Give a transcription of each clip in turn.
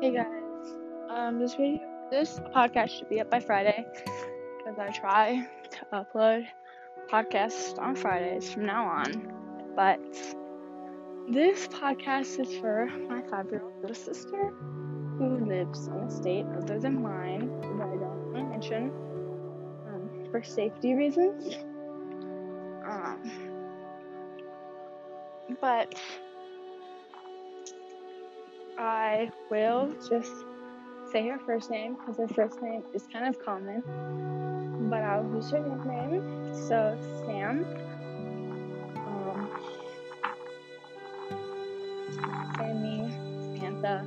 Hey guys, this podcast should be up by Friday because I try to upload podcasts on Fridays from now on. But this podcast is for my 5-year-old little sister who lives in a state other than mine that I don't want to mention for safety reasons. But I will just say her first name because her first name is kind of common, but I'll use her nickname. So Sam, Sammy, Samantha,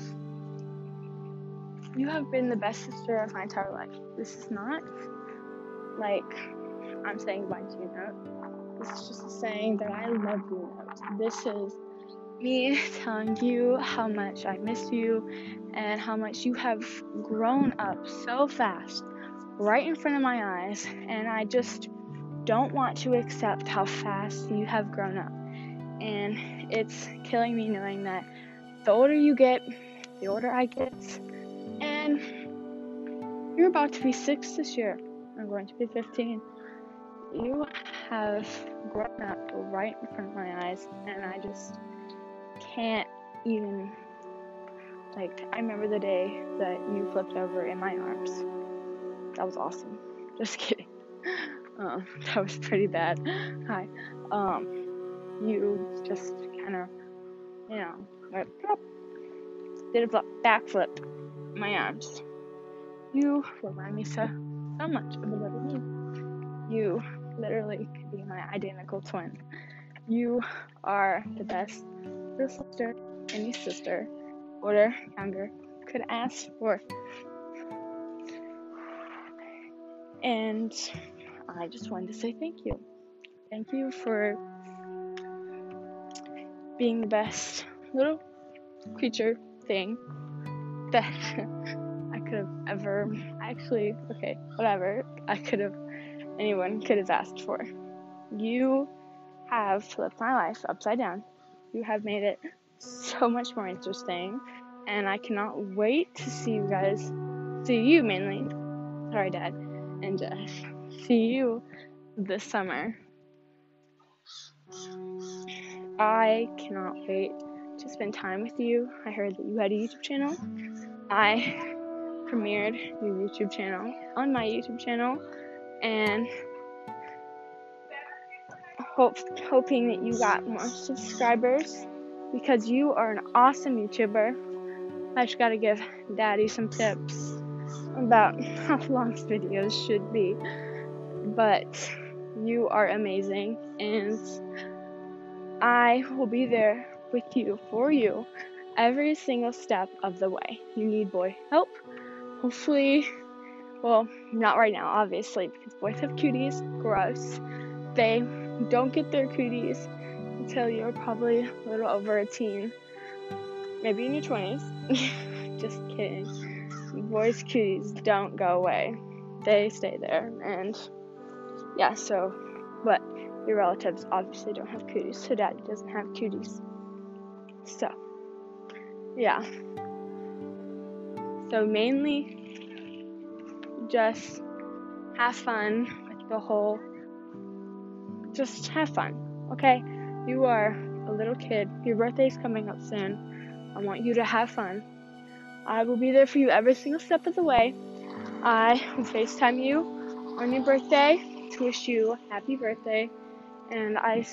you have been the best sister of my entire life. This is not like I'm saying goodbye to you note. This is just saying that I love you note. This is me telling you how much I miss you and how much you have grown up so fast right in front of my eyes, and I just don't want to accept how fast you have grown up. And it's killing me knowing that the older you get, the older I get, and you're about to be 6 this year. I'm going to be 15. You have grown up right in front of my eyes, and I just can't even, I remember the day that you flipped over in my arms. That was awesome. Just kidding. That was pretty bad. Hi. You just kind of, went plop, did a backflip in my arms. You remind me so much of a little me. You literally could be my identical twin. You are the best little sister any sister, older, younger, could ask for. And I just wanted to say thank you. Thank you for being the best little creature thing that I could have ever, anyone could have asked for. You have flipped my life upside down. You have made it so much more interesting, and I cannot wait to see you mainly, sorry Dad and Jeff, see you this summer. I cannot wait to spend time with you. I heard that you had a YouTube channel. I premiered your YouTube channel on my YouTube channel, and hoping that you got more subscribers because you are an awesome YouTuber. I just gotta give Daddy some tips about how long videos should be, but you are amazing, and I will be there with you, for you, every single step of the way. You need boy help. Hopefully, well, not right now, obviously, because boys have cooties. Gross. They don't get their cooties until you're probably a little over a teen. Maybe in your 20s. Just kidding. Boys' cooties don't go away. They stay there. And yeah, but your relatives obviously don't have cooties, so Daddy doesn't have cooties. So, yeah. So mainly, just have fun with the whole, just have fun, okay? You are a little kid. Your birthday's coming up soon. I want you to have fun. I will be there for you every single step of the way. I will FaceTime you on your birthday to wish you happy birthday. And I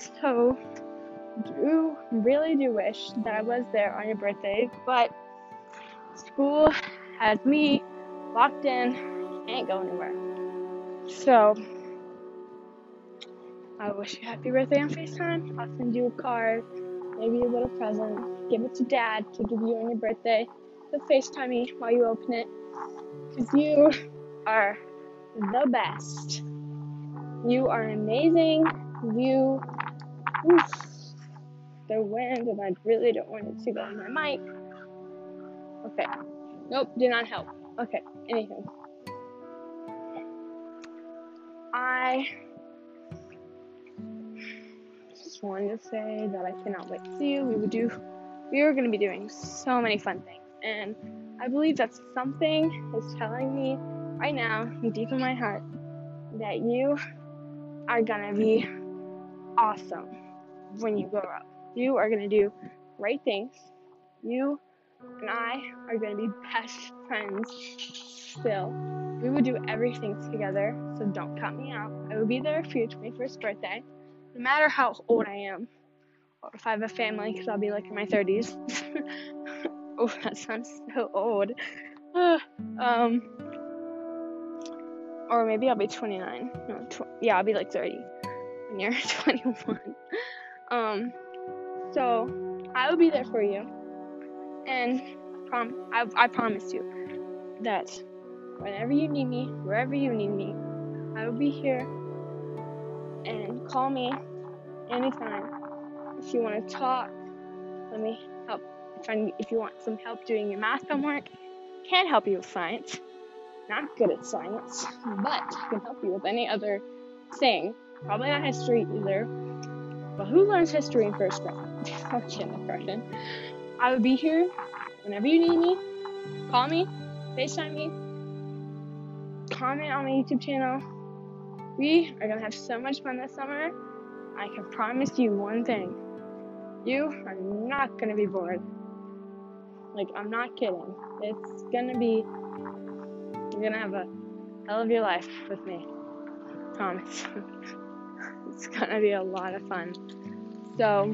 really do wish that I was there on your birthday, but school has me locked in, can't go anywhere. So, I wish you happy birthday on FaceTime. I'll send you a card, maybe a little present. Give it to Dad to give you on your birthday. But FaceTime me while you open it, because you are the best. You are amazing. The wind, and I really don't want it to go on my mic. Okay. Nope, did not help. Okay, anywho. I just wanted to say that I cannot wait to see you. We are going to be doing so many fun things. And I believe that something is telling me right now, deep in my heart, that you are gonna be awesome when you grow up. You are gonna do great things. You and I are gonna be best friends still. We will do everything together, so don't cut me out. I will be there for your 21st birthday, no matter how old I am, or if I have a family, because I'll be like in my 30s. Oh, that sounds so old. Or maybe I'll be 29. No, yeah, I'll be like 30 when you're 21. So I will be there for you, and I promise you that whenever you need me, wherever you need me, I will be here. And call me anytime if you want to talk. Let me help. If you want some help doing your math homework, can't help you with science. Not good at science, but I can help you with any other thing. Probably not history either. But who learns history in first grade? Depression. I will be here whenever you need me. Call me, FaceTime me, comment on my YouTube channel. We are gonna have so much fun this summer. I can promise you one thing. You are not gonna be bored. Like, I'm not kidding. It's gonna be, you're gonna have a hell of your life with me. Promise. It's gonna be a lot of fun. So,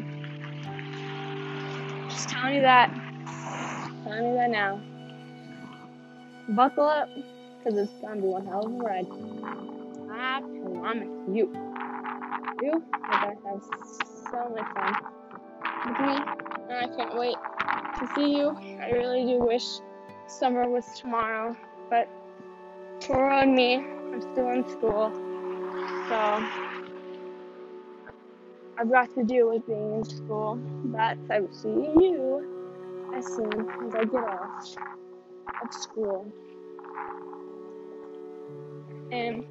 just telling you that. Telling you that now. Buckle up, because it's gonna be one hell of a ride. I promise you. You are gonna have so much fun with me, and I can't wait to see you. I really do wish summer was tomorrow, but poor on me, I'm still in school, so I've got to deal with being in school, but I will see you as soon as I get off of school. And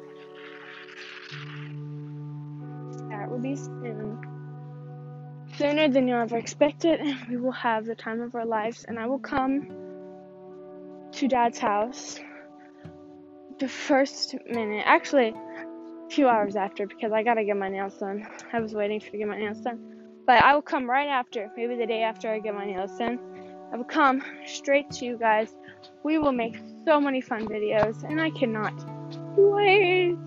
that will be soon. Sooner than you'll ever expect it. We will have the time of our lives, and I will come to Dad's house the first minute. Actually, a few hours after, because I gotta get my nails done. I was waiting to get my nails done. But I will come right after, maybe the day after I get my nails done. I will come straight to you guys. We will make so many fun videos, and I cannot wait.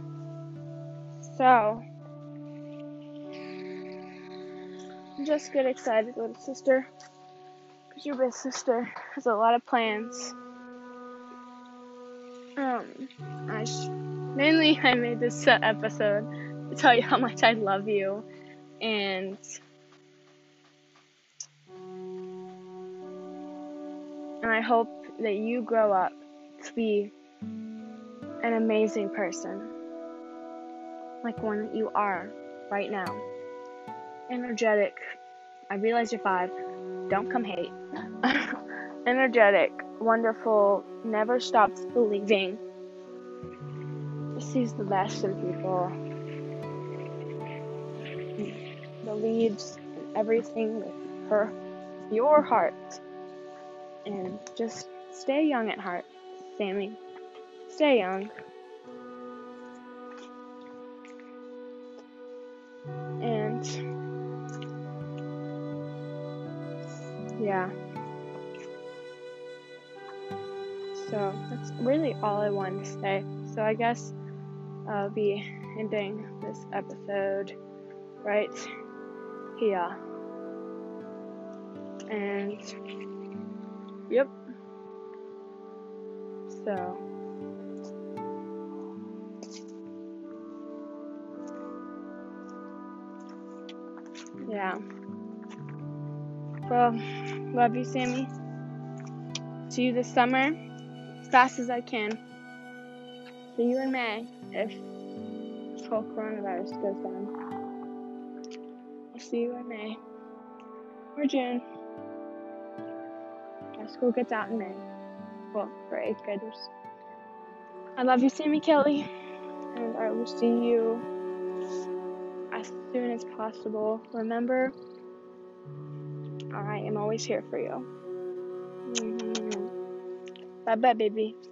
So, just get excited, little sister, because your big sister has a lot of plans. Mainly I made this episode to tell you how much I love you, and I hope that you grow up to be an amazing person, like one that you are right now. Energetic. I realize you're 5. Don't come hate. Energetic, wonderful, never stops believing. Sees the best in people. Believes in everything with your heart. And just stay young at heart, Sammy. Stay young. And yeah. So that's really all I wanted to say. So I guess I'll be ending this episode right here. And yep. So yeah. Well, love you, Sammy. See you this summer as fast as I can. See you in May if this whole coronavirus goes down. I'll see you in May or June. Our school gets out in May. Well, for 8th graders. I love you, Sammy Kelly, and I will see you as soon as possible. Remember, I am always here for you. Bye bye, baby.